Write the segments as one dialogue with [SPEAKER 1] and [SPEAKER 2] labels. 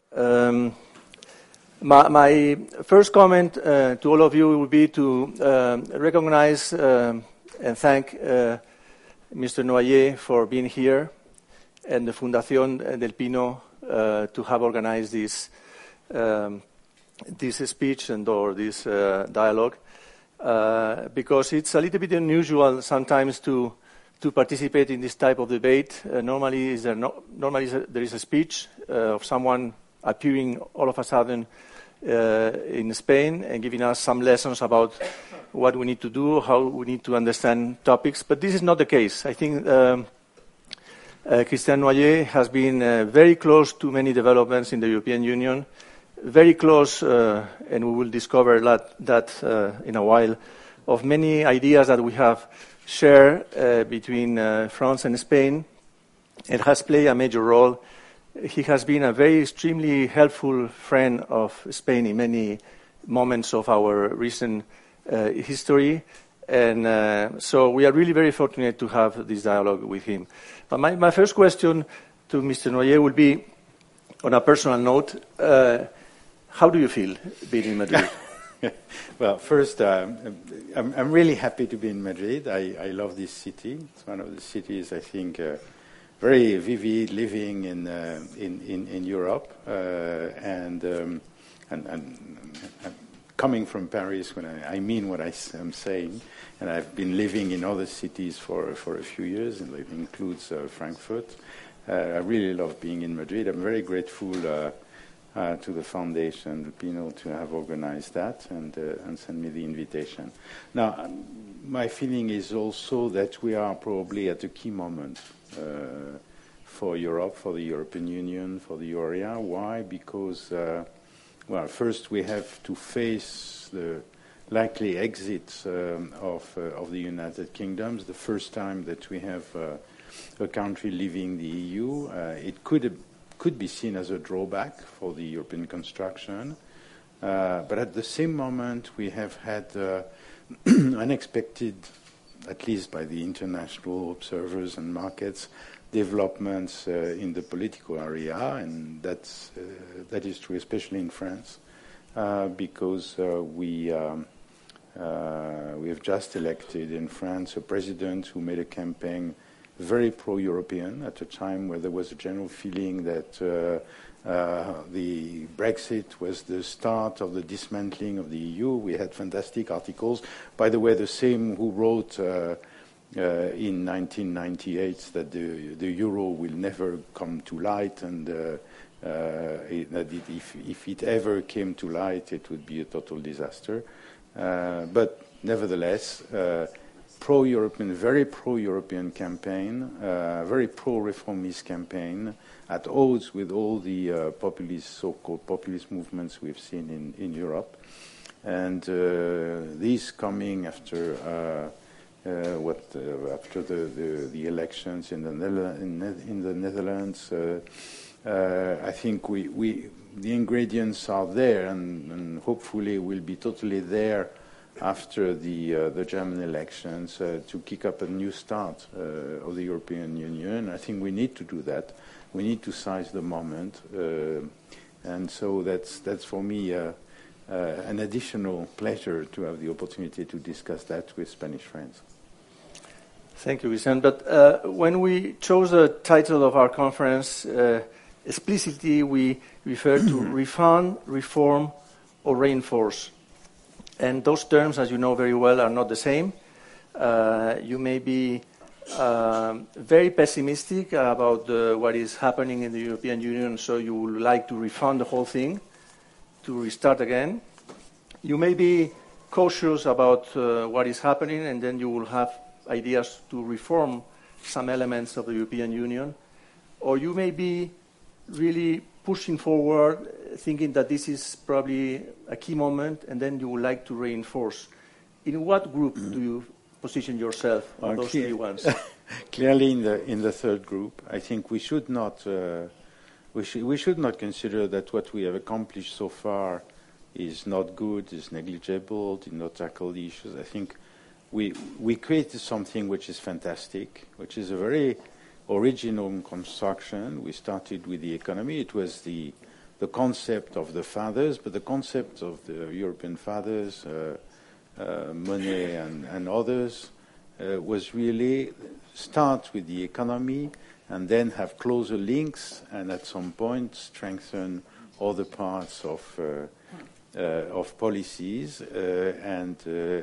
[SPEAKER 1] Um, my first comment to all of you will be to recognize and thank Mr. Noyer for being here and the Fundación del Pino to have organized this speech or this dialogue, because it's a little bit unusual sometimes to participate in this type of debate. Normally there is a speech of someone appearing all of a sudden in Spain and giving us some lessons about what we need to do, how we need to understand topics. But this is not the case. I think Christian Noyer has been very close to many developments in the European Union, very close, and we will discover that in a while, of many ideas that we have shared between France and Spain, and has played a major role. He has been a very extremely helpful friend of Spain in many moments of our recent history, and so we are really very fortunate to have this dialogue with him. But my first question to Mr. Noyer will be, on a personal note, how do you feel being in Madrid?
[SPEAKER 2] Well, first, I'm really happy to be in Madrid. I love this city. It's one of the cities, I think, very vivid living in Europe, and coming from Paris, when I mean what I'm saying, and I've been living in other cities for a few years, and it includes Frankfurt. I really love being in Madrid. I'm very grateful to the Foundation del Pino to have organized that and send me the invitation. Now, my feeling is also that we are probably at a key moment for Europe, for the European Union, for the euro area. Why? Because, well, first we have to face the likely exit of the United Kingdom. The first time that we have a country leaving the EU. It could be seen as a drawback for the European construction. But at the same moment, we have had unexpected, at least by the international observers and markets, developments in the political area, and that is true especially in France, because we have just elected in France a president who made a campaign very pro-European at a time where there was a general feeling that the Brexit was the start of the dismantling of the EU. We had fantastic articles. By the way, the same who wrote in 1998 that the euro will never come to light, and that if it ever came to light, it would be a total disaster. But nevertheless, pro-European, very pro-European campaign, very pro-reformist campaign, at odds with all the so-called populist movements we've seen in Europe. And these coming after after the elections in the Netherlands, I think the ingredients are there, and hopefully will be totally there after the German elections to kick up a new start of the European Union. I think we need to do that. We need to seize the moment, and so that's for me an additional pleasure to have the opportunity to discuss that with Spanish friends.
[SPEAKER 1] Thank you, Vicente. But when we chose the title of our conference, explicitly we referred to refund, reform, or reinforce. And those terms, as you know very well, are not the same. You may be very pessimistic about what is happening in the European Union, so you would like to refund the whole thing, to restart again. You may be cautious about what is happening, and then you will have ideas to reform some elements of the European Union. Or you may be really pushing forward, thinking that this is probably a key moment, and then you would like to reinforce. In what group do you position yourself on those three ones?
[SPEAKER 2] Clearly, in the third group, I think we should not consider that what we have accomplished so far is not good, is negligible, did not tackle the issues. I think we created something which is fantastic, which is a very original construction. We started with the economy. It was the the concept of the fathers, but the concept of the European fathers, Monet and others, was really start with the economy and then have closer links and at some point strengthen other parts of policies and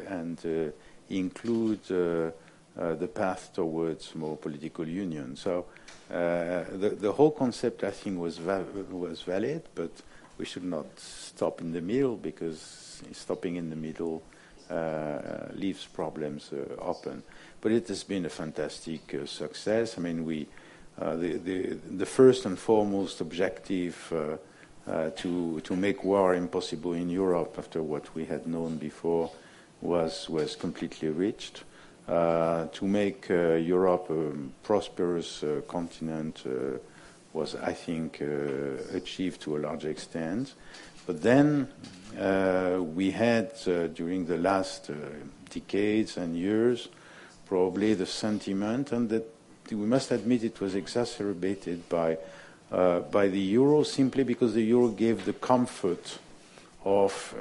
[SPEAKER 2] include the path towards more political union. So the whole concept, I think, was valid, but we should not stop in the middle, because stopping in the middle leaves problems open. But it has been a fantastic success. I mean, the first and foremost objective to make war impossible in Europe after what we had known before was completely reached. To make Europe a prosperous continent was, I think, achieved to a large extent. But then we had, during the last decades and years, probably the sentiment, and that we must admit it was exacerbated by the euro, simply because the euro gave the comfort of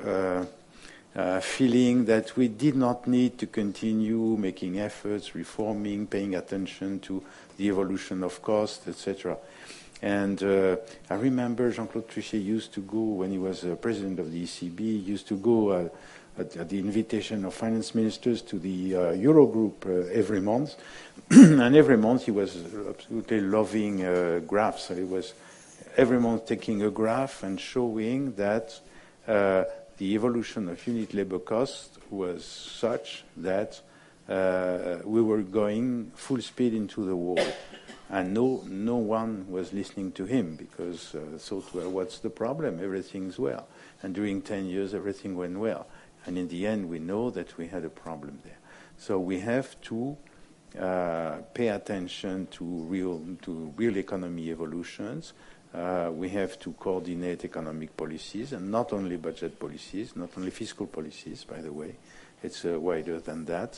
[SPEAKER 2] feeling that we did not need to continue making efforts, reforming, paying attention to the evolution of cost, etc. And I remember Jean-Claude Trichet used to go, when he was president of the ECB, used to go at the invitation of finance ministers to the Eurogroup every month. And every month he was absolutely loving graphs. So he was every month taking a graph and showing that the evolution of unit labor cost was such that we were going full speed into the wall. And no one was listening to him, because thought, well, what's the problem? Everything's well. And during 10 years, everything went well. And in the end, we know that we had a problem there. So we have to pay attention to real economy evolutions. We have to coordinate economic policies, and not only budget policies, not only fiscal policies, by the way. It's wider than that.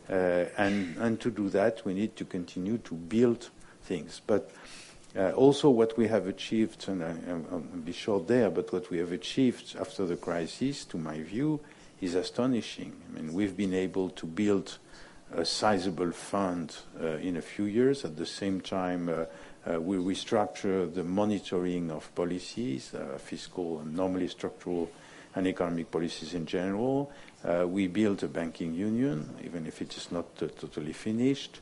[SPEAKER 2] And to do that, we need to continue to build things. But also what we have achieved, and I'll be short there, but what we have achieved after the crisis, to my view, is astonishing. I mean, we've been able to build a sizable fund in a few years. At the same time, we restructure the monitoring of policies, fiscal and normally structural and economic policies in general. We built a banking union, even if it is not totally finished.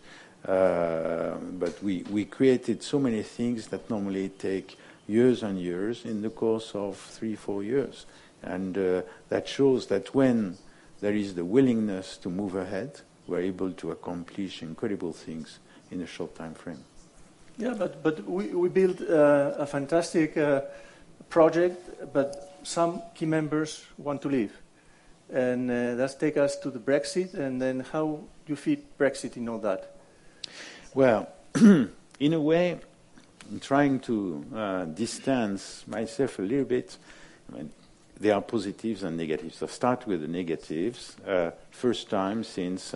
[SPEAKER 2] But we created so many things that normally take years and years in the course of 3-4 years. And that shows that when there is the willingness to move ahead, we're able to accomplish incredible things in a short time frame.
[SPEAKER 1] Yeah, but we built a fantastic project, but some key members want to leave. And that takes us to the Brexit, and then how do you fit Brexit in all that?
[SPEAKER 2] Well, in a way, I'm trying to distance myself a little bit. I mean, there are positives and negatives. I'll start with the negatives. First time since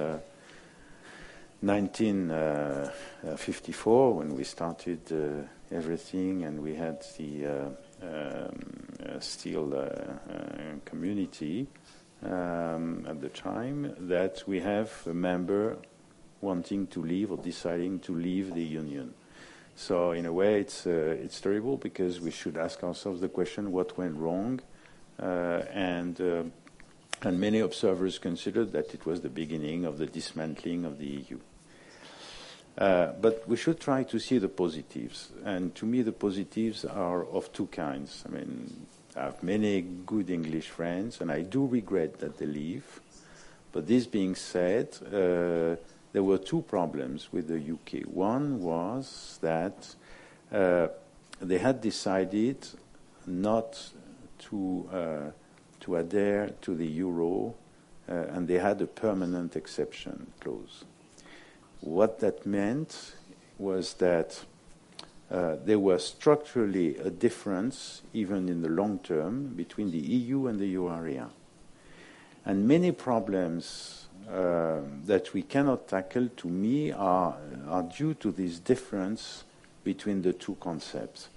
[SPEAKER 2] 1954, when we started everything, and we had the steel community at the time, that we have a member wanting to leave or deciding to leave the union. So in a way, it's terrible, because we should ask ourselves the question: what went wrong? And many observers considered that it was the beginning of the dismantling of the EU. But we should try to see the positives. And to me, the positives are of two kinds. I mean, I have many good English friends, and I do regret that they leave. But this being said, there were two problems with the UK. One was that they had decided not to adhere to the euro, and they had a permanent exception clause. What that meant was that there was structurally a difference, even in the long term, between the EU and the euro area. And many problems that we cannot tackle, to me, are due to this difference between the two concepts.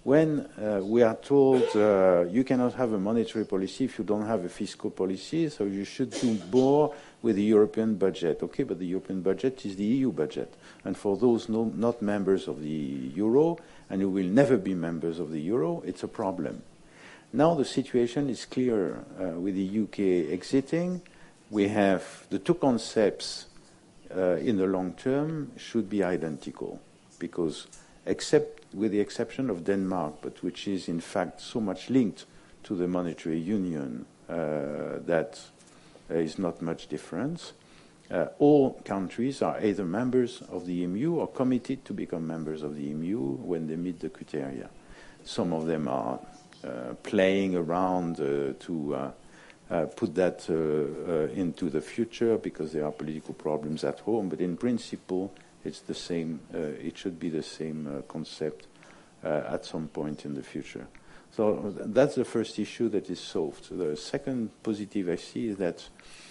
[SPEAKER 2] when we are told you cannot have a monetary policy if you don't have a fiscal policy, so you should do more with the European budget. Okay, but the European budget is the EU budget. And for those not members of the euro, and who will never be members of the euro, it's a problem. Now the situation is clear with the UK exiting. We have the two concepts in the long term should be identical, because except with the exception of Denmark, but which is in fact so much linked to the monetary union that there is not much difference. All countries are either members of the EMU or committed to become members of the EMU when they meet the criteria. Some of them are playing around to put that into the future because there are political problems at home, but in principle it's the same. It should be the same concept at some point in the future. So that's the first issue that is solved. The second positive I see is that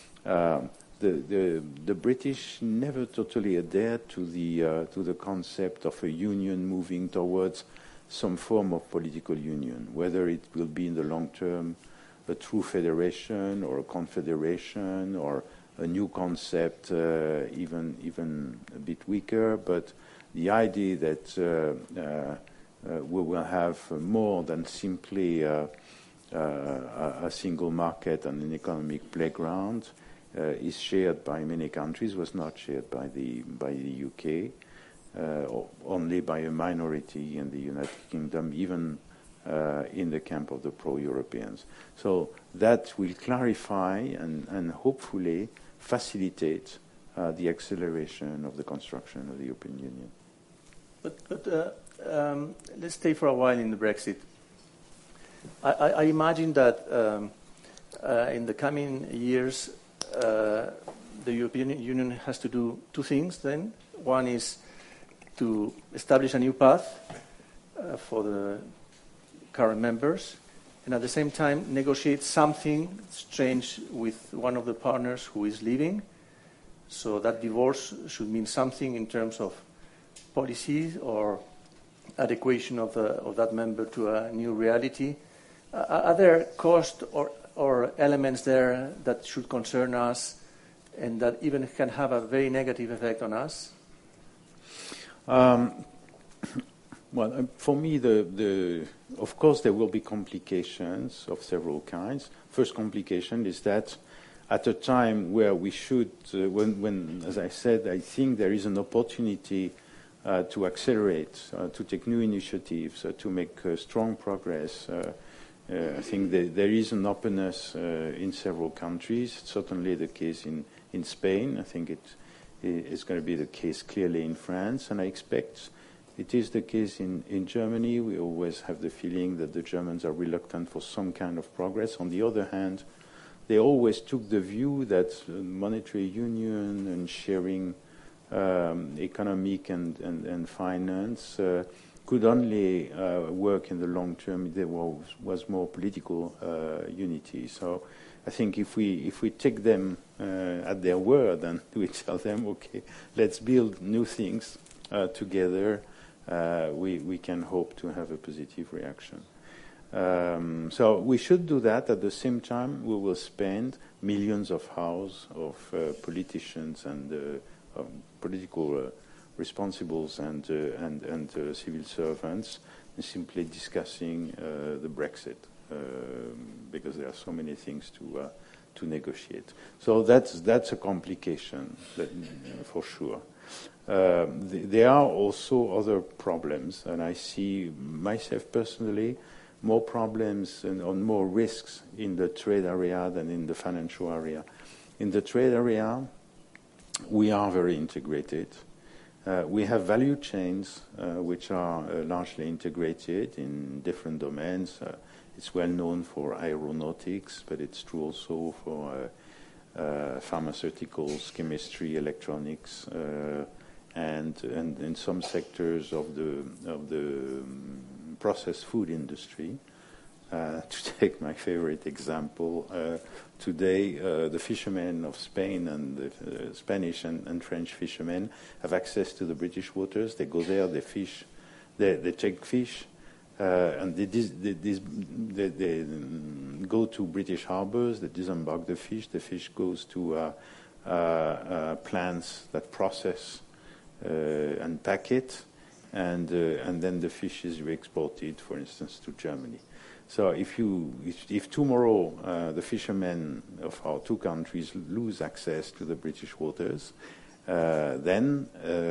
[SPEAKER 2] the British never totally adhered to the concept of a union moving towards some form of political union, whether it will be in the long term a true federation or a confederation or a new concept, even a bit weaker. But the idea that we will have more than simply a single market and an economic playground is shared by many countries, was not shared by the UK, only by a minority in the United Kingdom, even in the camp of the pro-Europeans. So that will clarify and hopefully facilitate the acceleration of the construction of the European Union.
[SPEAKER 1] But let's stay for a while in the Brexit. I imagine that in the coming years, the European Union has to do two things then. One is to establish a new path for the current members, and at the same time negotiate something strange with one of the partners who is leaving. So that divorce should mean something in terms of policies or adequation of that member to a new reality. Are there costs or elements there that should concern us and that even can have a very negative effect on us?
[SPEAKER 2] Well, for me, of course, there will be complications of several kinds. First complication is that at a time where we should, when, as I said, I think there is an opportunity to accelerate, to take new initiatives, to make strong progress. I think there is an openness in several countries. It's certainly the case in Spain. I think it's going to be the case clearly in France, and I expect it is the case in Germany. We always have the feeling that the Germans are reluctant for some kind of progress. On the other hand, they always took the view that monetary union and sharing economic and finance could only work in the long term if there was more political unity. So I think if we take them at their word and we tell them, okay, let's build new things together, we can hope to have a positive reaction. So we should do that. At the same time, we will spend millions of hours of politicians and political responsibles and civil servants simply discussing the Brexit because there are so many things to negotiate. So that's a complication for sure. There are also other problems, and I see myself personally more problems and more risks in the trade area than in the financial area. In the trade area, we are very integrated. We have value chains which are largely integrated in different domains. It's well known for aeronautics, but it's true also for pharmaceuticals, chemistry, electronics, and in some sectors of the processed food industry. To take my favorite example, today the fishermen of Spain and the Spanish and French fishermen have access to the British waters. They go there, they fish, they take fish, and they go to British harbors, they disembark the fish goes to plants that process and pack it, and then the fish is re-exported, for instance, to Germany. So if tomorrow the fishermen of our two countries lose access to the British waters, then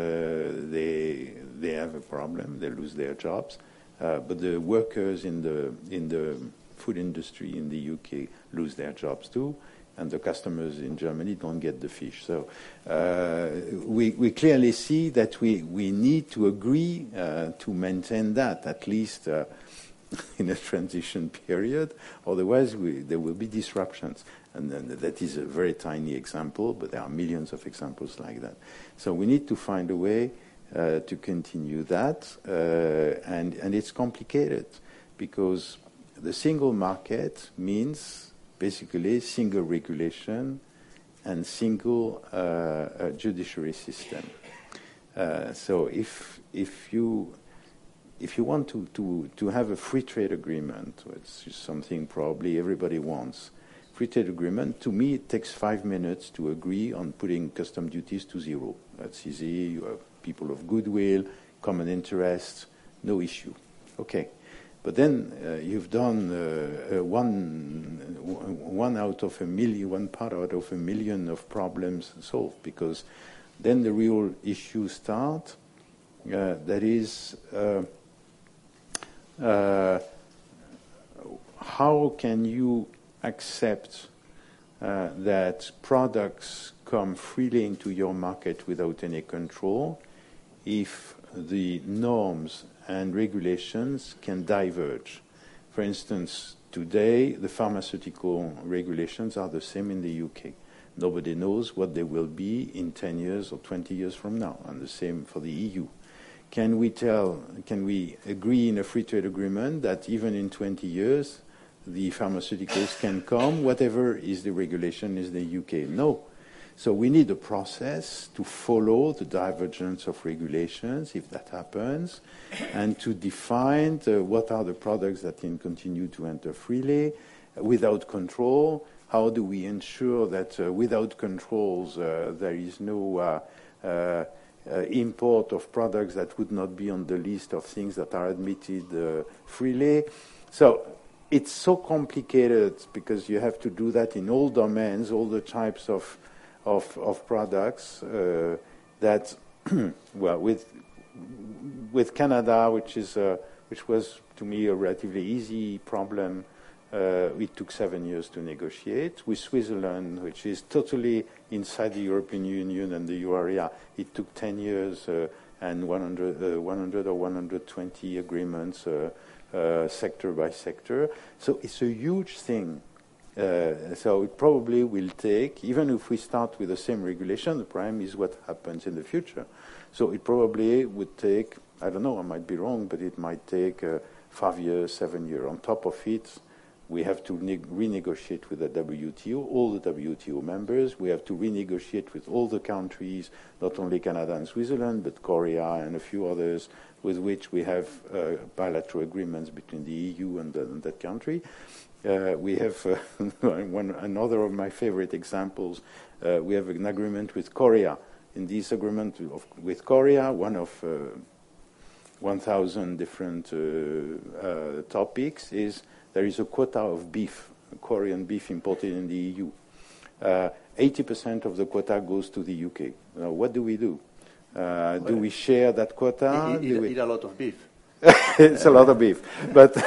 [SPEAKER 2] they have a problem. They lose their jobs, but the workers in the food industry in the UK lose their jobs too, and the customers in Germany don't get the fish. So we clearly see that we need to agree to maintain that at least in a transition period. Otherwise, there will be disruptions. And that is a very tiny example, but there are millions of examples like that. So we need to find a way to continue that, and it's complicated because the single market means basically single regulation and single judiciary system. So if you want to have a free trade agreement, which is something probably everybody wants, free trade agreement, to me it takes 5 minutes to agree on putting custom duties to zero. That's easy. You have people of goodwill, common interests, no issue. Okay. But then you've done one out of a million, one part out of a million of problems solved, because then the real issues start. That is, how can you accept that products come freely into your market without any control if the norms and regulations can diverge? For instance, today the pharmaceutical regulations are the same in the UK. Nobody knows what they will be in 10 years or 20 years from now, and the same for the EU. Can we agree in a free trade agreement that even in 20 years the pharmaceuticals can come, whatever is the regulation in the UK? No. So we need a process to follow the divergence of regulations, if that happens, and to define what are the products that can continue to enter freely, without control. How do we ensure that without controls there is no import of products that would not be on the list of things that are admitted freely? So it's so complicated because you have to do that in all domains, all the types of products that, well, with Canada, which was to me a relatively easy problem, it took 7 years to negotiate. With Switzerland, which is totally inside the European Union and the euro area, it took 10 years and 100 or 120 agreements sector by sector. So it's a huge thing. So it probably will take, even if we start with the same regulation, the problem is what happens in the future. So it probably would take, I don't know, I might be wrong, but it might take 5 years, 7 years. On top of it, we have to renegotiate with the WTO, all the WTO members. We have to renegotiate with all the countries, not only Canada and Switzerland, but Korea and a few others with which we have bilateral agreements between the EU and that country. We have another of my favorite examples. We have an agreement with Korea. In this agreement with Korea, one of 1,000 different topics is there is a quota of beef, Korean beef imported in the EU. 80% of the quota goes to the UK. Now, what do we do? Do we share that quota?
[SPEAKER 1] Eat a lot of beef.
[SPEAKER 2] It's a lot of beef, but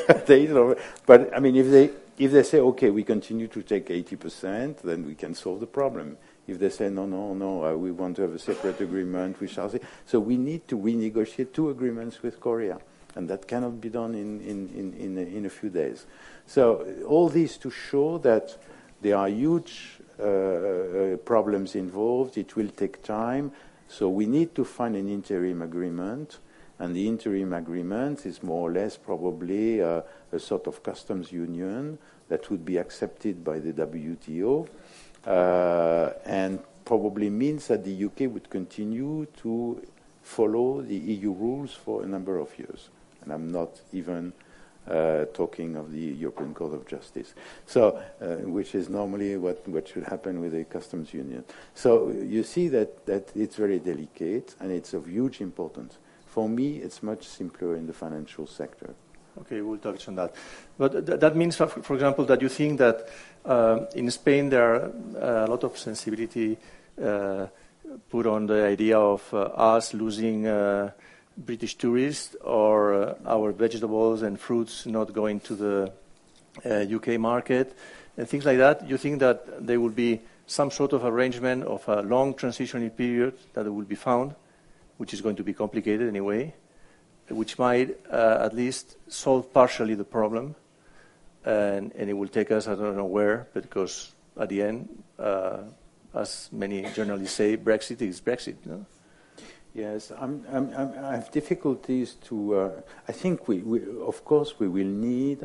[SPEAKER 2] I mean, if they say okay, we continue to take 80%, then we can solve the problem. If they say no, we want to have a separate agreement, we shall see. So we need to renegotiate 2 agreements with Korea, and that cannot be done in a few days. So all this to show that there are huge problems involved. It will take time. So we need to find an interim agreement. And the interim agreement is more or less probably a sort of customs union that would be accepted by the WTO, and probably means that the UK would continue to follow the EU rules for a number of years. And I'm not even talking of the European Court of Justice, so which is normally what should happen with a customs union. So you see that it's very delicate and it's of huge importance. For me, it's much simpler in the financial sector.
[SPEAKER 1] Okay, we'll touch on that. But that means, for example, that you think that in Spain there are a lot of sensibility put on the idea of us losing British tourists or our vegetables and fruits not going to the UK market and things like that. You think that there will be some sort of arrangement of a long transitional period that will be found, which is going to be complicated anyway, which might at least solve partially the problem, and it will take us, I don't know where, because at the end, as many journalists say, Brexit is Brexit. No?
[SPEAKER 2] Yes, I have difficulties to. I think we of course we will need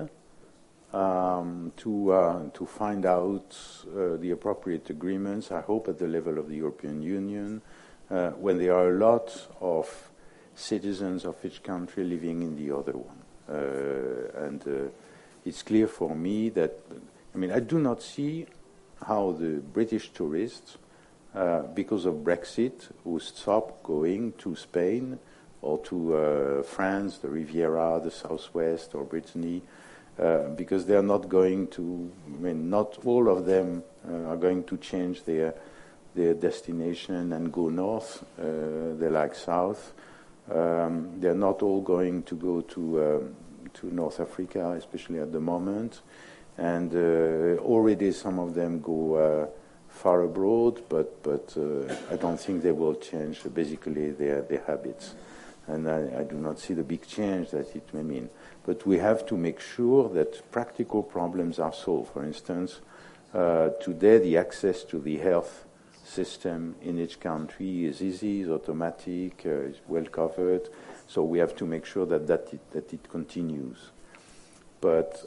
[SPEAKER 2] to find out the appropriate agreements. I hope at the level of the European Union, when there are a lot of citizens of each country living in the other one, and it's clear for me that I do not see how the British tourists, because of Brexit, who stop going to Spain or to France, the Riviera, the Southwest, or Brittany, because they are not going to. Not all of them are going to change their destination and go north. They like south. They're not all going to go to North Africa, especially at the moment, and already some of them go far abroad, but I don't think they will change basically their habits, and I do not see the big change that it may mean. But we have to make sure that practical problems are solved. For instance, today the access to the health system in each country is easy, is automatic, is well covered. So we have to make sure that it continues. But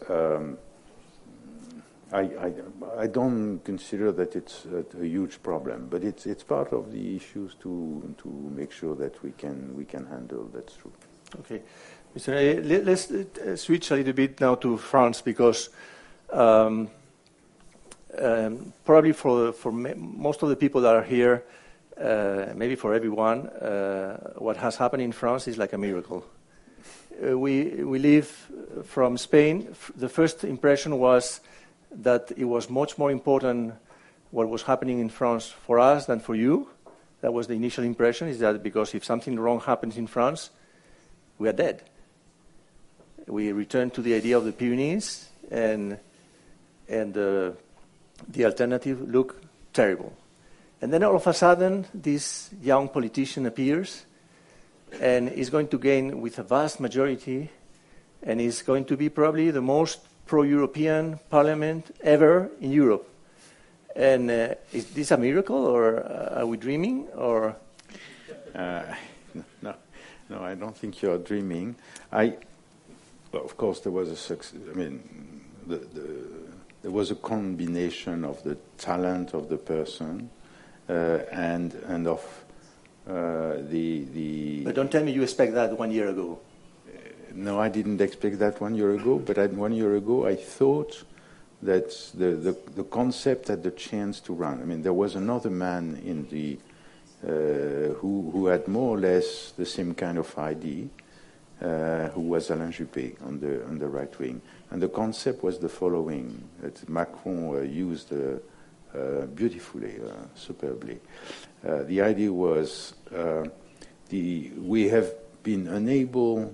[SPEAKER 2] I don't consider that it's a huge problem. But it's part of the issues to make sure that we can handle. That's true.
[SPEAKER 1] Okay, Mr. Naillet, let's switch a little bit now to France, because probably for most of the people that are here, maybe for everyone, what has happened in France is like a miracle. We live from Spain. The first impression was that it was much more important what was happening in France for us than for you. That was the initial impression, is that because if something wrong happens in France, we are dead. We return to the idea of the Pyrenees, and the alternative look terrible. And then all of a sudden, this young politician appears and is going to gain with a vast majority, and is going to be probably the most pro-European parliament ever in Europe. And is this a miracle, or are we dreaming? Or
[SPEAKER 2] no, I don't think you're dreaming. Of course, there was a success. There was a combination of the talent of the person and of the.
[SPEAKER 1] But don't tell me you expect that 1 year ago.
[SPEAKER 2] No, I didn't expect that 1 year ago. But 1 year ago, I thought that the concept had the chance to run. There was another man in the who had more or less the same kind of idea, who was Alain Juppé on the right wing. And the concept was the following, that Macron used beautifully, superbly. The idea was we have been unable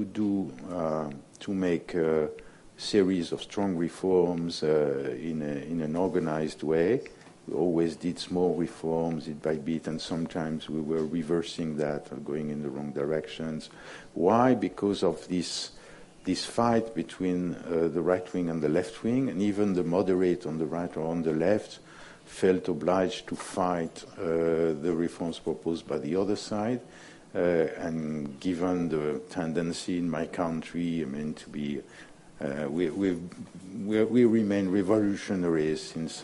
[SPEAKER 2] to make a series of strong reforms in an organized way. We always did small reforms bit by bit, and sometimes we were reversing that or going in the wrong directions. Why? Because of this fight between the right wing and the left wing, and even the moderate on the right or on the left felt obliged to fight the reforms proposed by the other side. And given the tendency in my country, to be, we remain revolutionaries since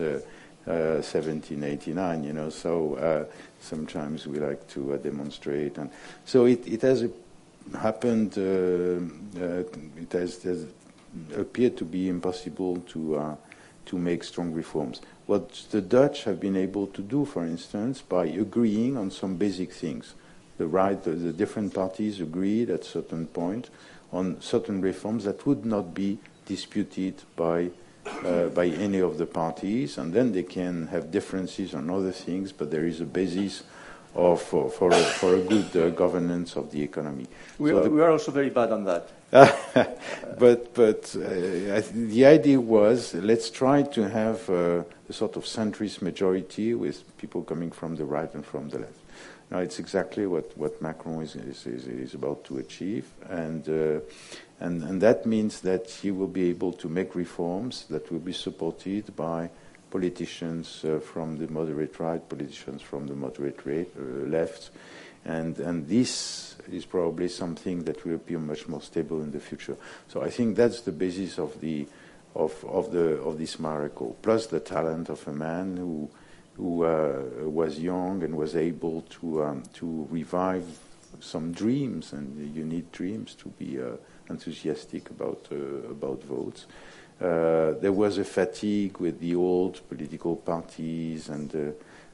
[SPEAKER 2] 1789, so sometimes we like to demonstrate. And so it has happened. It has appeared to be impossible to make strong reforms. What the Dutch have been able to do, for instance, by agreeing on some basic things, the different parties agreed at a certain point on certain reforms that would not be disputed by any of the parties, and then they can have differences on other things, but there is a basis for a good governance of the economy.
[SPEAKER 1] We are also very bad on that.
[SPEAKER 2] but the idea was, let's try to have a sort of centrist majority with people coming from the right and from the left. Now, it's exactly what Macron is about to achieve, and that means that he will be able to make reforms that will be supported by politicians from the moderate right, politicians from the moderate left, and this is probably something that will be much more stable in the future. So I think that's the basis of this miracle, plus the talent of a man who was young and was able to revive some dreams, and you need dreams to be enthusiastic about votes. There was a fatigue with the old political parties and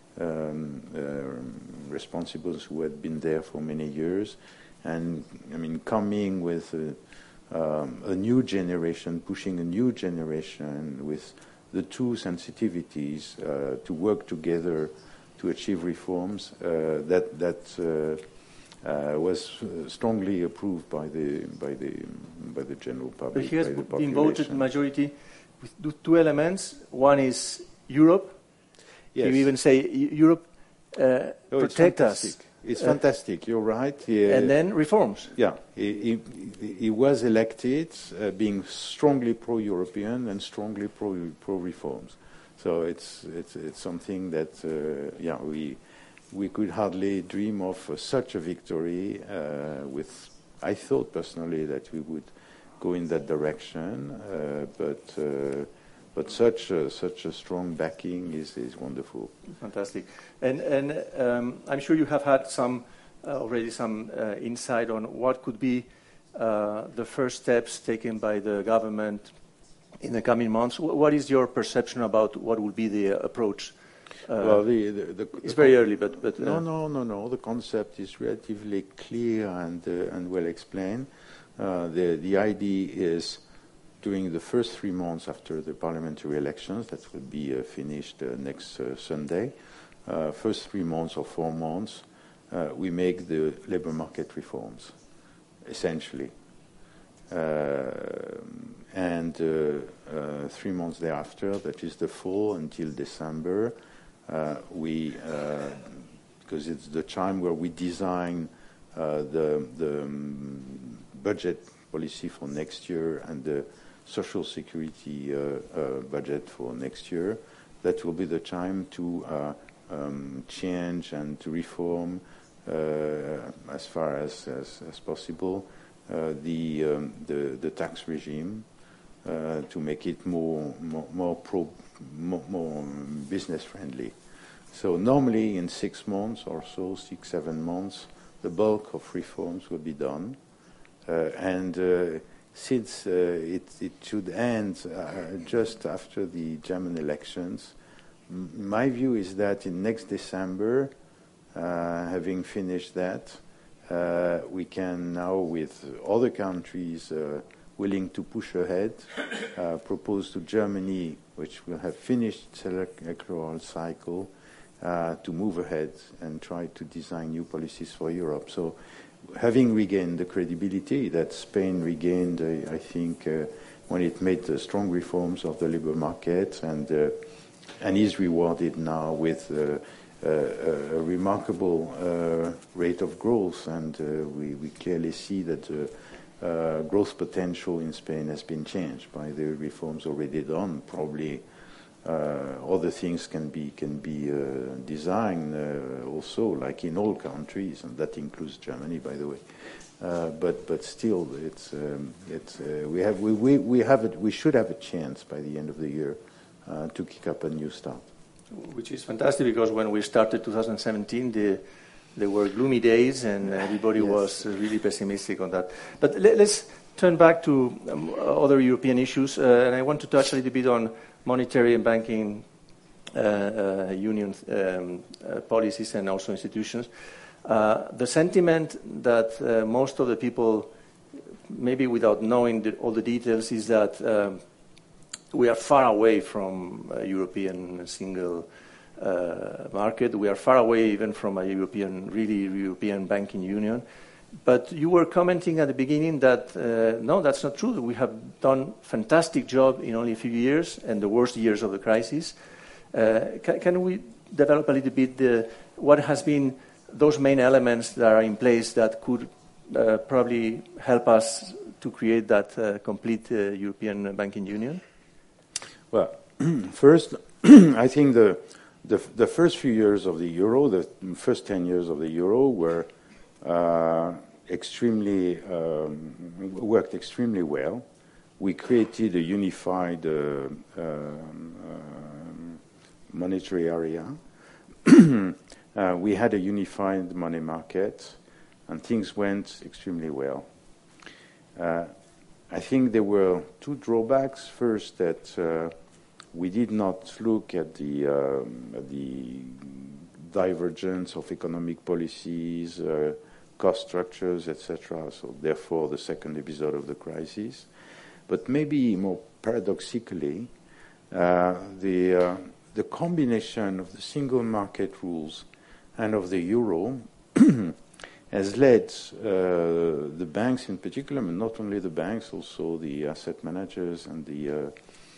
[SPEAKER 2] responsibles who had been there for many years, and I mean, coming with a new generation, pushing a new generation with the two sensitivities to work together to achieve reforms, that was strongly approved by the general public.
[SPEAKER 1] But he has been voted majority with two elements. One is Europe.
[SPEAKER 2] Yes.
[SPEAKER 1] You even say Europe protect us.
[SPEAKER 2] It's fantastic. You're right.
[SPEAKER 1] And then reforms.
[SPEAKER 2] Yeah, he was elected being strongly pro-European and strongly pro-reforms. So it's something that we could hardly dream of such a victory. I thought personally that we would go in that direction, but such a strong backing is wonderful.
[SPEAKER 1] Fantastic, and I'm sure you have had already some insight on what could be the first steps taken by the government in the coming months. What is your perception about what will be the approach?
[SPEAKER 2] Well,
[SPEAKER 1] it's very early, but
[SPEAKER 2] no. The concept is relatively clear and well explained. The idea is, during the first 3 months after the parliamentary elections, that will be finished next Sunday, first 3 months or 4 months, we make the labor market reforms, essentially. And 3 months thereafter, that is the fall until December, because it's the time where we design the budget policy for next year and the social security budget for next year, that will be the time to change and to reform as far as possible the tax regime to make it more business friendly. So normally in 6 months or so, 6-7 months, the bulk of reforms will be done, and since it should end just after the German elections, my view is that in next December, having finished that, we can now, with other countries willing to push ahead, propose to Germany, which will have finished its electoral cycle, to move ahead and try to design new policies for Europe. So, having regained the credibility that Spain regained, I think, when it made strong reforms of the labor market, and is rewarded now with a remarkable rate of growth, and we clearly see that growth potential in Spain has been changed by the reforms already done. Probably other things can be designed also, like in all countries, and that includes Germany, by the way. But still, we should have a chance by the end of the year to kick up a new start.
[SPEAKER 1] Which is fantastic, because when we started 2017, there were gloomy days, and everybody was really pessimistic on that. But let's turn back to other European issues, and I want to touch a little bit on monetary and banking union policies and also institutions. The sentiment that most of the people, maybe without knowing all the details, is that we are far away from a European single market. We are far away even from a really European banking union. But you were commenting at the beginning that, no, that's not true. We have done a fantastic job in only a few years, and the worst years of the crisis. Can we develop a little bit what has been those main elements that are in place that could probably help us to create that complete European banking union?
[SPEAKER 2] Well, first, I think the first few years of the euro, the first 10 years of the euro, were worked extremely well. We created a unified monetary area. We had a unified money market, and things went extremely well. I think there were two drawbacks. First, that we did not look at the divergence of economic policies, cost structures, etc. So therefore, the second episode of the crisis. But maybe more paradoxically, the combination of the single market rules and of the euro has led the banks in particular, but not only the banks, also the asset managers and the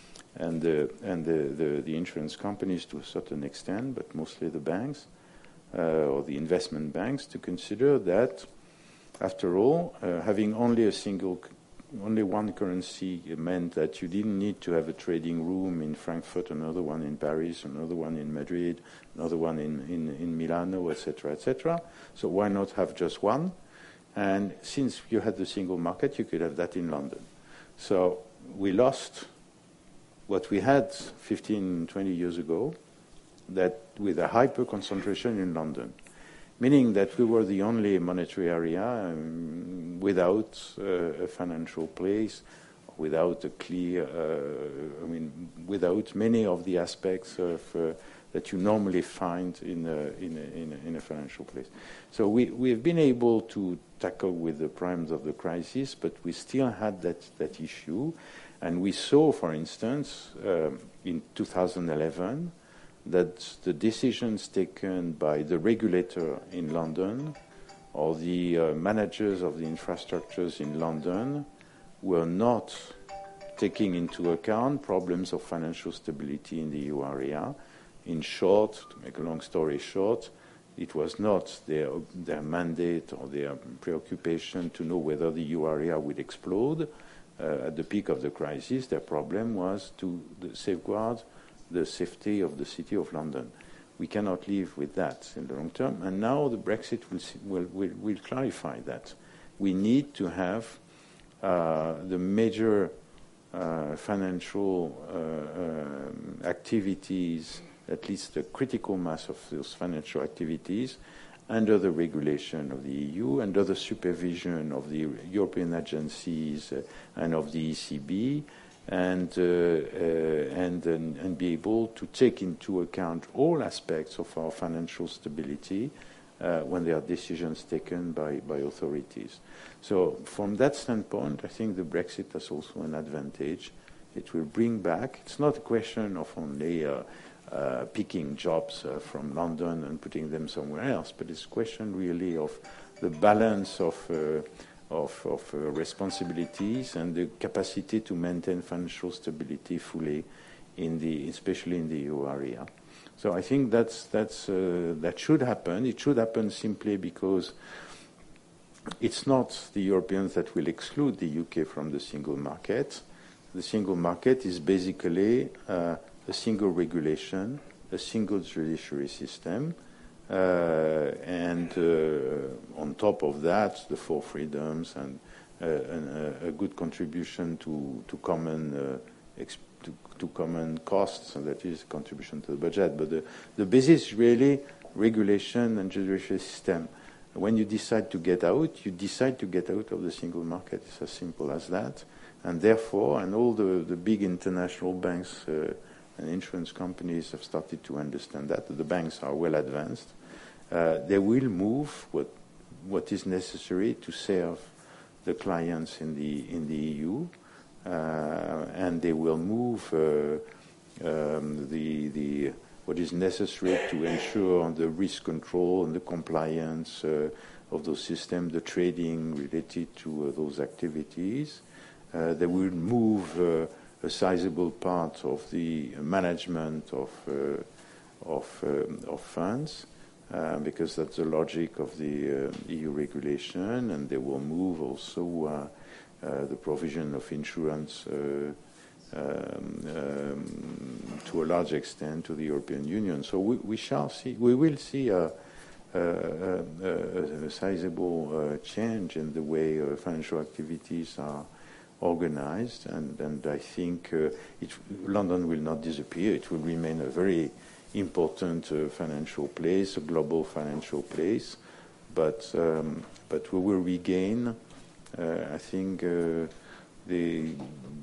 [SPEAKER 2] insurance companies to a certain extent, but mostly the banks or the investment banks, to consider that, after all, having only one currency meant that you didn't need to have a trading room in Frankfurt, another one in Paris, another one in Madrid, another one in Milano, etc., etc. So why not have just one? And since you had the single market, you could have that in London. So we lost what we had 15, 20 years ago, that with a hyper concentration in London, meaning that we were the only monetary area without a financial place, without a clear, without many of the aspects of that you normally find in a financial place. So we have been able to tackle with the primes of the crisis, but we still had that issue. And we saw, for instance, in 2011, that the decisions taken by the regulator in London or the managers of the infrastructures in London were not taking into account problems of financial stability in the EU area. In short, to make a long story short, it was not their mandate or their preoccupation to know whether the EU area would explode. At the peak of the crisis, their problem was to safeguard the safety of the City of London. We cannot live with that in the long term, and now the Brexit will clarify that. We need to have the major financial activities, at least the critical mass of those financial activities, under the regulation of the EU, under the supervision of the European agencies and of the ECB, and be able to take into account all aspects of our financial stability when there are decisions taken by authorities. So from that standpoint, I think the Brexit has also an advantage. It will bring back, it's not a question of only picking jobs from London and putting them somewhere else, but it's a question really of the balance of responsibilities and the capacity to maintain financial stability fully especially in the EU area. So I think that should happen. It should happen simply because it's not the Europeans that will exclude the UK from the single market. The single market is basically a single regulation, a single judiciary system, and on top of that, the four freedoms and a good contribution to common costs, and that is contribution to the budget. But the basis really regulation and judicial system. When you decide to get out, you decide to get out of the single market. It's as simple as that. And therefore, and all the big international banks and insurance companies have started to understand that. The banks are well advanced. They will move what is necessary to serve the clients in the EU, and they will move what is necessary to ensure the risk control and the compliance of those systems, the trading related to those activities. They will move a sizable part of the management of funds, because that's the logic of the EU regulation, and they will move also the provision of insurance to a large extent to the European Union. So we will see a sizable change in the way financial activities are organized, and I think London will not disappear. It will remain a very important financial place, a global financial place, but we will regain, I think, the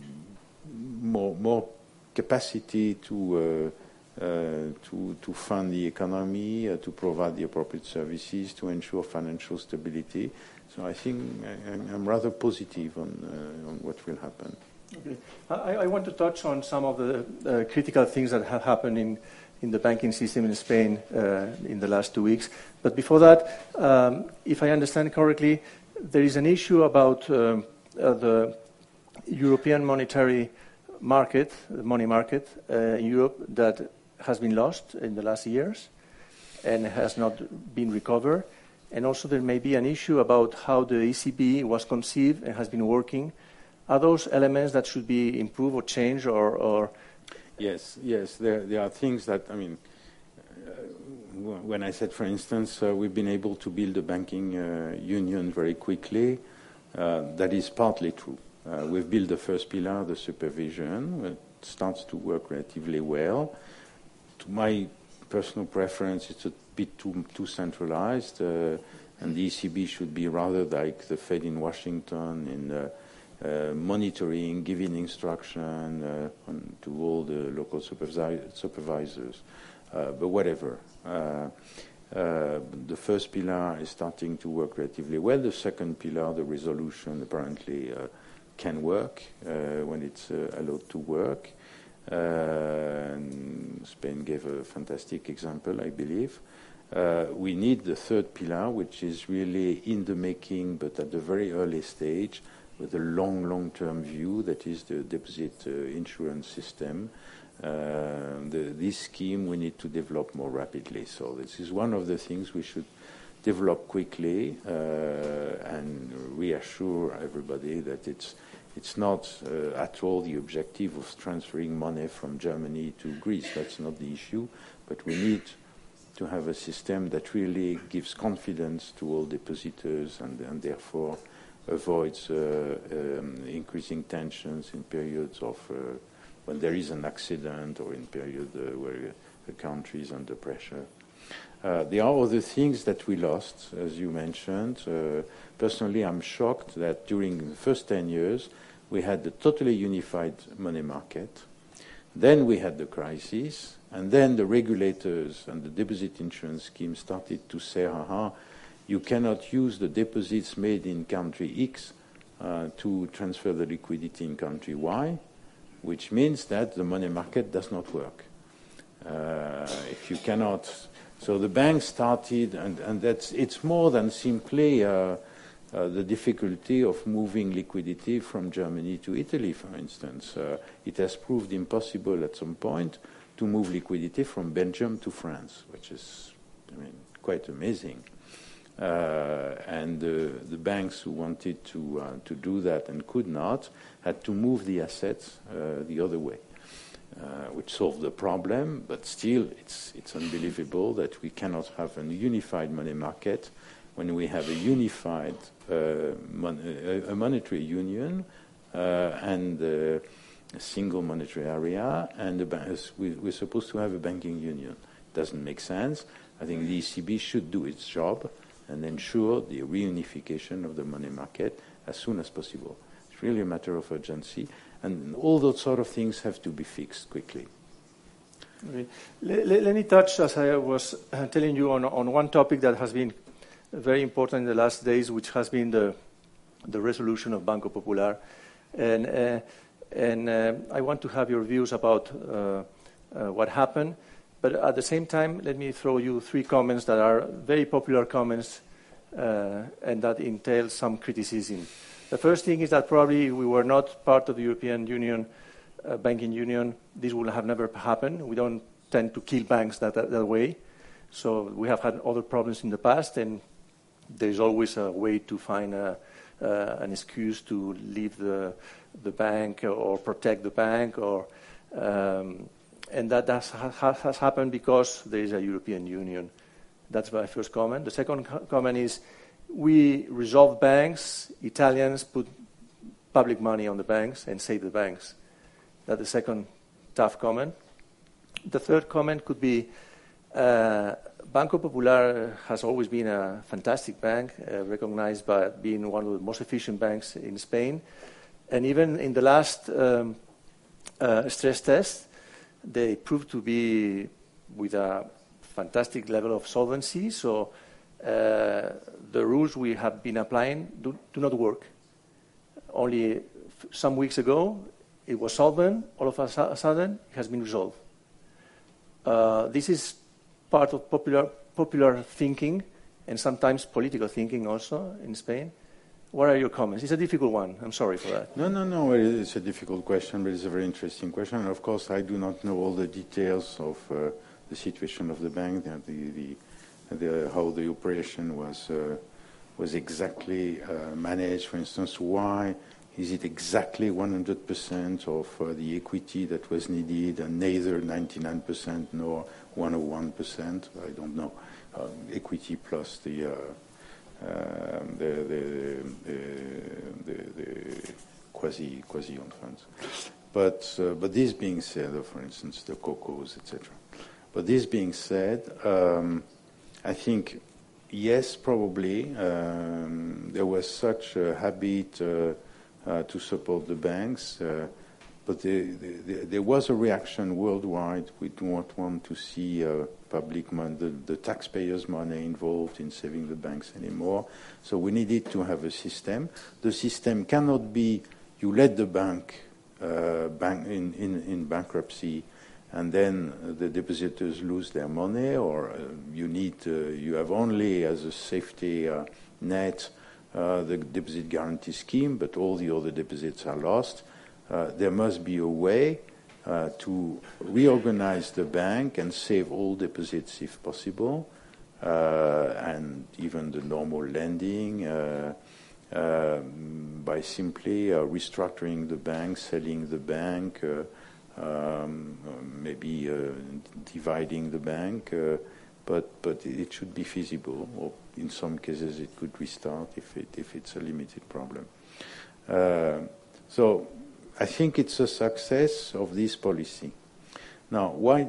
[SPEAKER 2] more capacity to fund the economy, to provide the appropriate services, to ensure financial stability. So I think I'm rather positive on what will happen.
[SPEAKER 1] Okay. I want to touch on some of the critical things that have happened in the banking system in Spain in the last 2 weeks. But before that, if I understand correctly, there is an issue about the European monetary market, the money market in Europe, that has been lost in the last years and has not been recovered. And also there may be an issue about how the ECB was conceived and has been working. Are those elements that should be improved or changed or?
[SPEAKER 2] Yes. There are things that, I mean, when I said, for instance, we've been able to build a banking union very quickly, that is partly true. We've built the first pillar, the supervision. It starts to work relatively well. To my personal preference, it's a bit too centralized, and the ECB should be rather like the Fed in Washington in monitoring, giving instruction to all the local supervisors. But whatever. The first pillar is starting to work relatively well. The second pillar, the resolution, apparently can work when it's allowed to work. And Spain gave a fantastic example, I believe. We need the third pillar, which is really in the making, but at a very early stage, with a long-term view, that is the deposit insurance system. This scheme we need to develop more rapidly. So this is one of the things we should develop quickly and reassure everybody that it's not at all the objective of transferring money from Germany to Greece. That's not the issue. But we need to have a system that really gives confidence to all depositors and therefore avoids increasing tensions in periods of when there is an accident or in periods where the country is under pressure. There are other things that we lost, as you mentioned. Personally, I'm shocked that during the first 10 years, we had the totally unified money market. Then we had the crisis, and then the regulators and the deposit insurance scheme started to say, you cannot use the deposits made in country X to transfer the liquidity in country Y, which means that the money market does not work. If you cannot... So the banks started, and it's more than simply the difficulty of moving liquidity from Germany to Italy, for instance. It has proved impossible at some point to move liquidity from Belgium to France, which is, quite amazing. And the banks who wanted to do that and could not had to move the assets the other way. Which solved the problem, but still it's unbelievable that we cannot have a unified money market when we have a unified a monetary union and a single monetary area, and we're supposed to have a banking union. Doesn't make sense. I think the ECB should do its job and ensure the reunification of the money market as soon as possible. It's really a matter of urgency, and all those sort of things have to be fixed quickly.
[SPEAKER 1] Okay. Let me touch, as I was telling you, on one topic that has been very important in the last days, which has been the resolution of Banco Popular. And I want to have your views about what happened. But at the same time, let me throw you 3 comments that are very popular comments and that entail some criticism. The first thing is that probably we were not part of the European Union, banking union. This would have never happened. We don't tend to kill banks that way. So we have had other problems in the past, and there's always a way to find an excuse to leave the bank or protect the bank, and that has happened because there is a European Union. That's my first comment. The second comment is we resolve banks. Italians put public money on the banks and save the banks. That's the second tough comment. The third comment could be Banco Popular has always been a fantastic bank, recognized by being one of the most efficient banks in Spain. And even in the last stress test, they proved to be with a fantastic level of solvency. So the rules we have been applying do not work. Only some weeks ago, it was solvent. All of a sudden, it has been resolved. This is part of popular thinking and sometimes political thinking also in Spain. What are your comments? It's a difficult one. I'm sorry for that.
[SPEAKER 2] No. It's a difficult question, but it's a very interesting question. And of course, I do not know all the details of the situation of the bank, how the operation was exactly managed. For instance, why is it exactly 100% of the equity that was needed, and neither 99% nor 101%? I don't know. Equity plus the quasi-owned funds. But this being said, for instance, the COCOs, etc. But this being said, I think, yes, probably there was such a habit to support the banks, but there was a reaction worldwide. We do not want to see public money, the taxpayers' money involved in saving the banks anymore. So we needed to have a system. The system cannot be you let the bank in bankruptcy, and then the depositors lose their money, or you have only as a safety net the deposit guarantee scheme, but all the other deposits are lost. There must be a way to reorganize the bank and save all deposits if possible, and even the normal lending by simply restructuring the bank, selling the bank, maybe dividing the bank, but it should be feasible, or in some cases it could restart if it's a limited problem. So I think it's a success of this policy. Now, why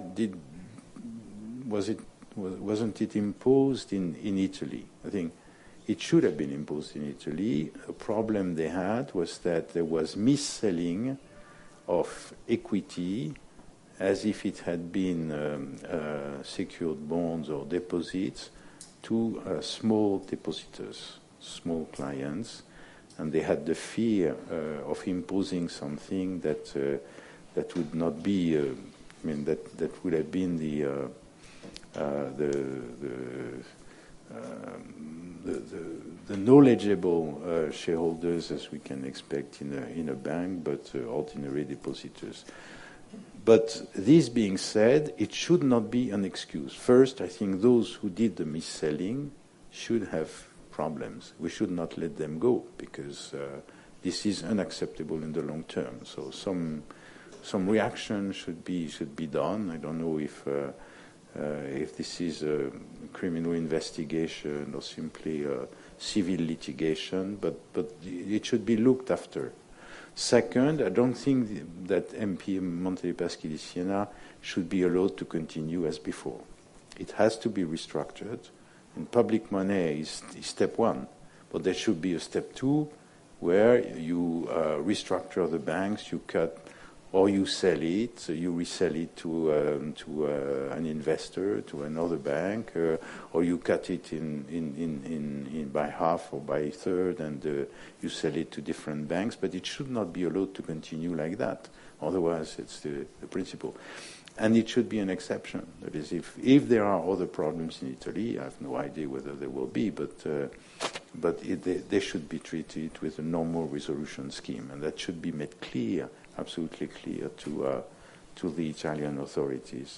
[SPEAKER 2] wasn't it imposed in Italy? I think it should have been imposed in Italy. A problem they had was that there was mis-selling of equity as if it had been secured bonds or deposits to small depositors, small clients, and they had the fear of imposing something that would not be, that would have been the knowledgeable shareholders, as we can expect in a bank, but ordinary depositors. But this being said, it should not be an excuse. First, I think those who did the mis-selling should have problems. We should not let them go, because this is unacceptable in the long term. So some reaction should be done. I don't know if this is a criminal investigation or simply a civil litigation, but it should be looked after. Second, I don't think that MP Monte dei Paschi di Siena should be allowed to continue as before. it has to be restructured. And public money is step one. But there should be a step two where you restructure the banks, you cut or you sell it, so you resell it to an investor, to another bank, or you cut it in by half or by a third, and you sell it to different banks. But it should not be allowed to continue like that. Otherwise, it's the principle. And it should be an exception. That is, if there are other problems in Italy, I have no idea whether there will be, but they should be treated with a normal resolution scheme, and that should be made clear, absolutely clear to the Italian authorities.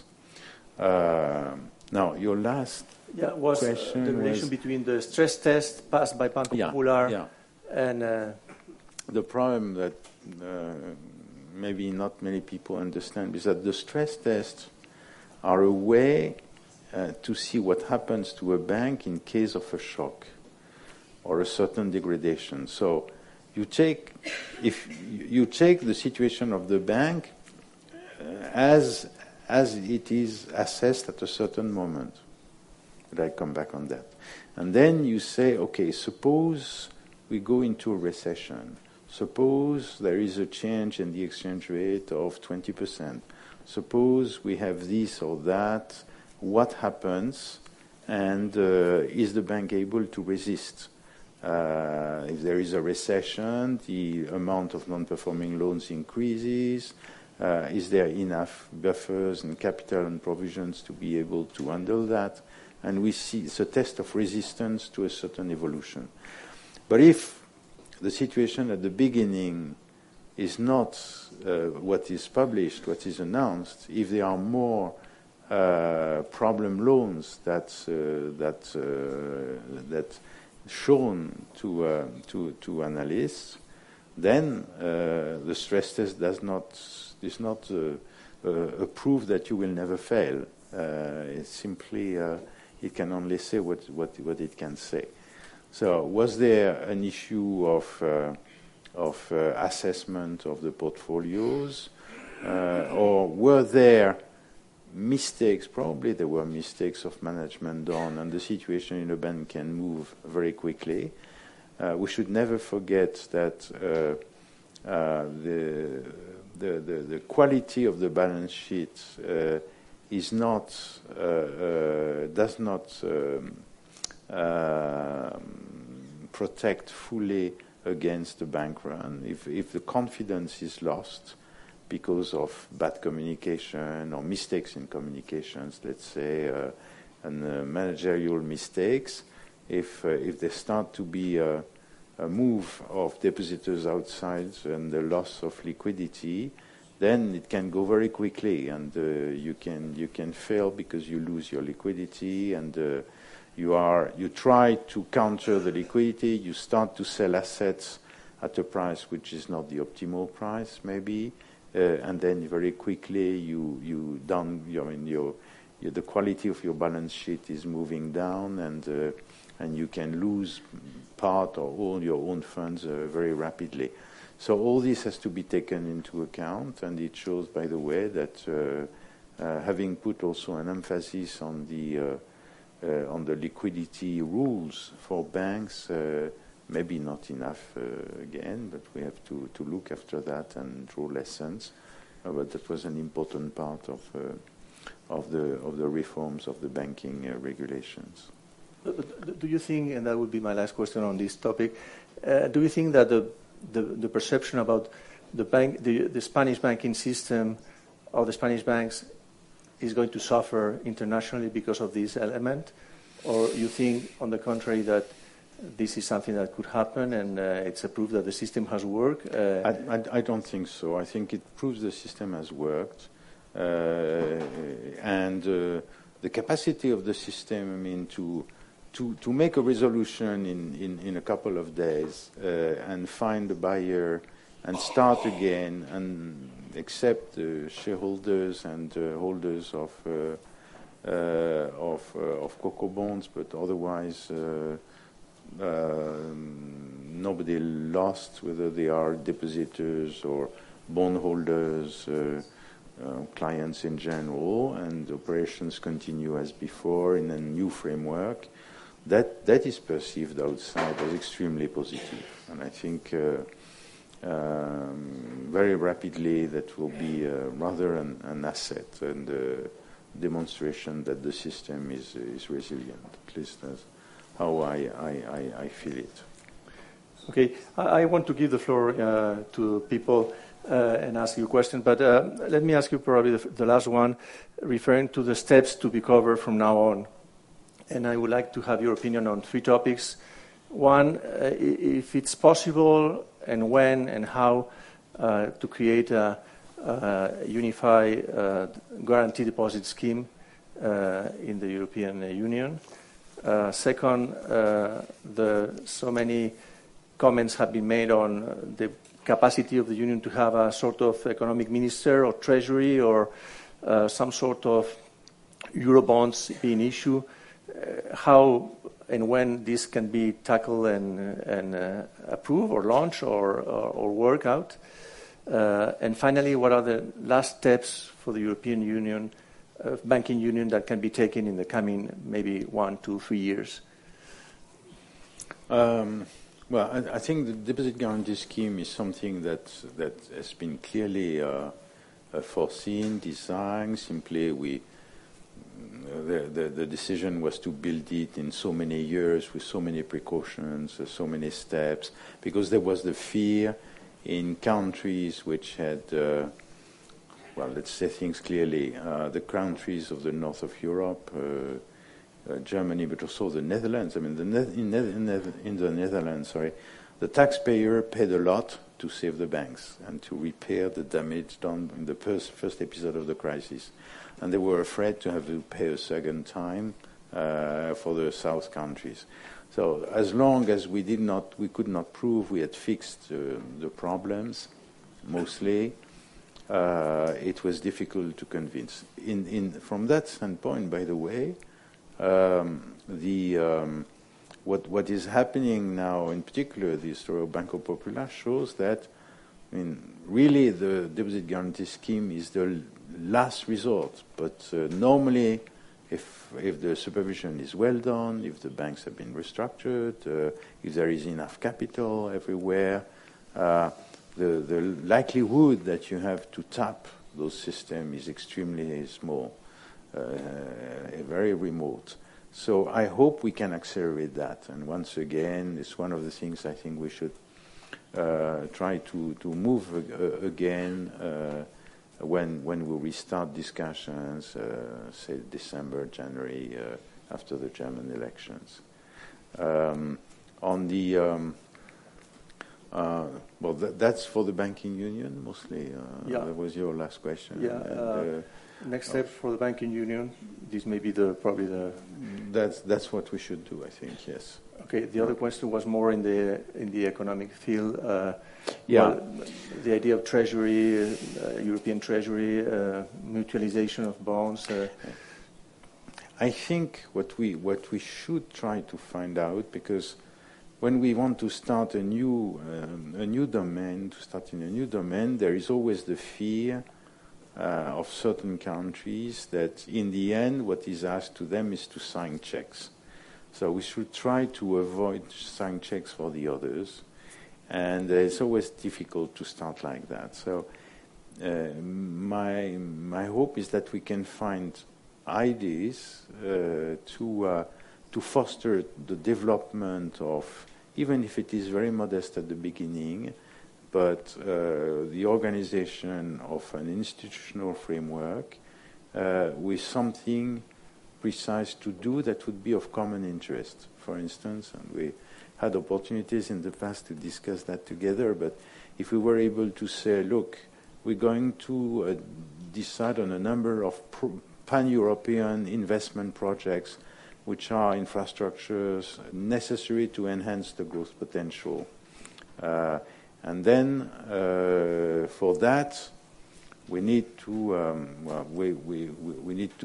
[SPEAKER 2] Now, your last
[SPEAKER 1] was
[SPEAKER 2] question
[SPEAKER 1] the relation between the stress test passed by Banco Popular and
[SPEAKER 2] the problem that maybe not many people understand is that the stress tests are a way to see what happens to a bank in case of a shock or a certain degradation. So if you take the situation of the bank as it is assessed at a certain moment. But I come back on that. And then you say, okay, suppose we go into a recession. Suppose there is a change in the exchange rate of 20%. Suppose we have this or that. What happens? And is the bank able to resist? If there is a recession, the amount of non-performing loans increases. Is there enough buffers and capital and provisions to be able to handle that? And we see it's a test of resistance to a certain evolution. But if the situation at the beginning is not what is published, what is announced, if there are more problem loans that shown to analysts, then the stress test is not a proof that you will never fail. It's simply it can only say what it can say. So, was there an issue of assessment of the portfolios, or were there mistakes? Probably there were mistakes of management done, and the situation in a bank can move very quickly. We should never forget that the quality of the balance sheet does not protect fully against the bank run. If the confidence is lost because of bad communication or mistakes in communications, let's say, and managerial mistakes, if there start to be a move of depositors outside and the loss of liquidity, then it can go very quickly, and you can fail because you lose your liquidity, and you try to counter the liquidity. You start to sell assets at a price which is not the optimal price, maybe, and then very quickly the quality of your balance sheet is moving down, and you can lose part or all your own funds very rapidly. So all this has to be taken into account, and it shows, by the way, that having put also an emphasis on the liquidity rules for banks, maybe not enough again, but we have to look after that and draw lessons. But that was an important part of the reforms of the banking regulations.
[SPEAKER 1] Do you think, and that would be my last question on this topic, do you think that the perception about the Spanish banking system or the Spanish banks is going to suffer internationally because of this element? Or you think, on the contrary, that this is something that could happen and it's a proof that the system has worked?
[SPEAKER 2] I don't think so. I think it proves the system has worked. And the capacity of the system, I mean, to make a resolution in a couple of days and find a buyer and start again and accept shareholders and holders of CoCo bonds, but otherwise nobody lost, whether they are depositors or bondholders clients in general, and operations continue as before in a new framework. That is perceived outside as extremely positive, and I think very rapidly that will be rather an asset and a demonstration that the system is resilient. At least that's how I feel it.
[SPEAKER 1] Okay, I want to give the floor to people and ask you a question, but let me ask you probably the last one, referring to the steps to be covered from now on. And I would like to have your opinion on 3 topics. One, if it's possible, and when and how to create a unified guarantee deposit scheme in the European Union. Second, so many comments have been made on the capacity of the Union to have a sort of economic minister or treasury or some sort of Eurobonds being issued. How and when this can be tackled and approved or launched or work out. And finally, what are the last steps for the European Union, banking union, that can be taken in the coming maybe 1, 2, 3 years?
[SPEAKER 2] Well, I think the deposit guarantee scheme is something that has been clearly foreseen, designed. Simply, the decision was to build it in so many years with so many precautions, so many steps, because there was the fear in countries which had, well, let's say things clearly, the countries of the north of Europe, Germany, but also the Netherlands. I mean, in the Netherlands, the taxpayer paid a lot to save the banks and to repair the damage done in the first episode of the crisis. And they were afraid to have to pay a second time for the south countries. So as long as we could not prove we had fixed the problems, mostly, it was difficult to convince. From that standpoint, by the way, what is happening now, in particular, the story of Banco Popular shows that, I mean, really the deposit guarantee scheme is the last resort. But normally, if the supervision is well done, if the banks have been restructured, if there is enough capital everywhere, the likelihood that you have to tap those systems is extremely small, very remote. So I hope we can accelerate that. And once again, it's one of the things I think we should try to move again when we restart discussions, say December, January, after the German elections. On the well, that's for the banking union mostly. That was your last question.
[SPEAKER 1] Yeah. Next step for the banking union. This may be probably the.
[SPEAKER 2] That's what we should do, I think. Yes.
[SPEAKER 1] Okay. The other question was more in the economic field.
[SPEAKER 2] Yeah.
[SPEAKER 1] Well, the idea of treasury, European treasury, mutualization of bonds.
[SPEAKER 2] I think what we should try to find out, because when we want to start a new domain, there is always the fear of certain countries that in the end what is asked to them is to sign checks. So we should try to avoid signing checks for the others, and it's always difficult to start like that. So my hope is that we can find ideas to foster the development of, even if it is very modest at the beginning, but the organization of an institutional framework with something precise to do that would be of common interest, for instance. And we had opportunities in the past to discuss that together, but if we were able to say, look, we're going to decide on a number of pan-European investment projects which are infrastructures necessary to enhance the growth potential. And then for that, we need to we need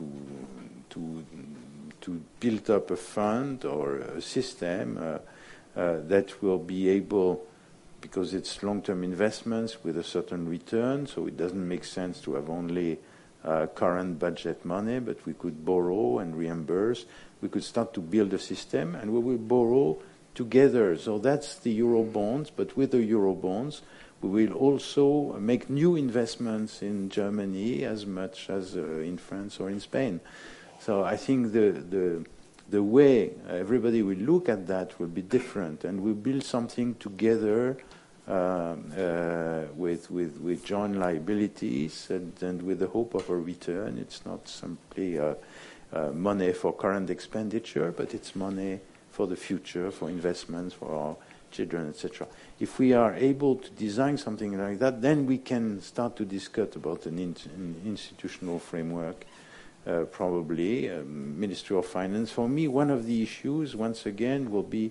[SPEAKER 2] to build up a fund or a system that will be able because it's long-term investments with a certain return, so it doesn't make sense to have only current budget money, but we could borrow and reimburse. We could start to build a system, and we will borrow together. So that's the Eurobonds, but with the Eurobonds, we will also make new investments in Germany as much as in France or in Spain. So I think the way everybody will look at that will be different, and we'll build something together with joint liabilities and with the hope of a return. It's not simply money for current expenditure, but it's money for the future, for investments, for our children, etc. If we are able to design something like that, then we can start to discuss about an institutional framework, probably, Ministry of Finance. For me, one of the issues, once again, will be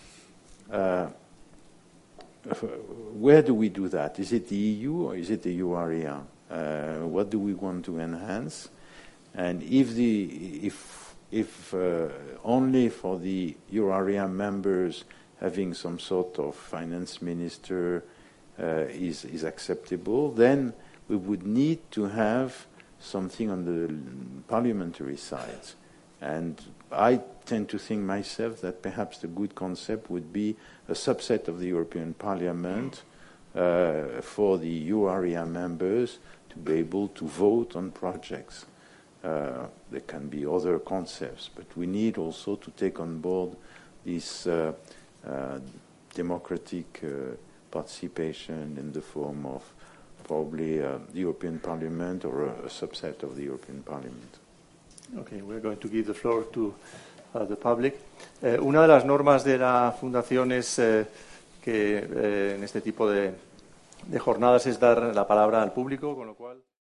[SPEAKER 2] where do we do that? Is it the EU or is it the EU area? What do we want to enhance? And if only for the euro area members having some sort of finance minister is acceptable, then we would need to have something on the parliamentary side. And I tend to think myself that perhaps the good concept would be a subset of the European Parliament for the euro area members to be able to vote on projects. There can be other concepts, but we need also to take on board this democratic participation in the form of probably the European Parliament or a subset of the European Parliament.
[SPEAKER 1] Okay, we're going to give the floor to the public. Una de las normas de la Fundación es que en este tipo de jornadas es dar la palabra al público, con lo cual...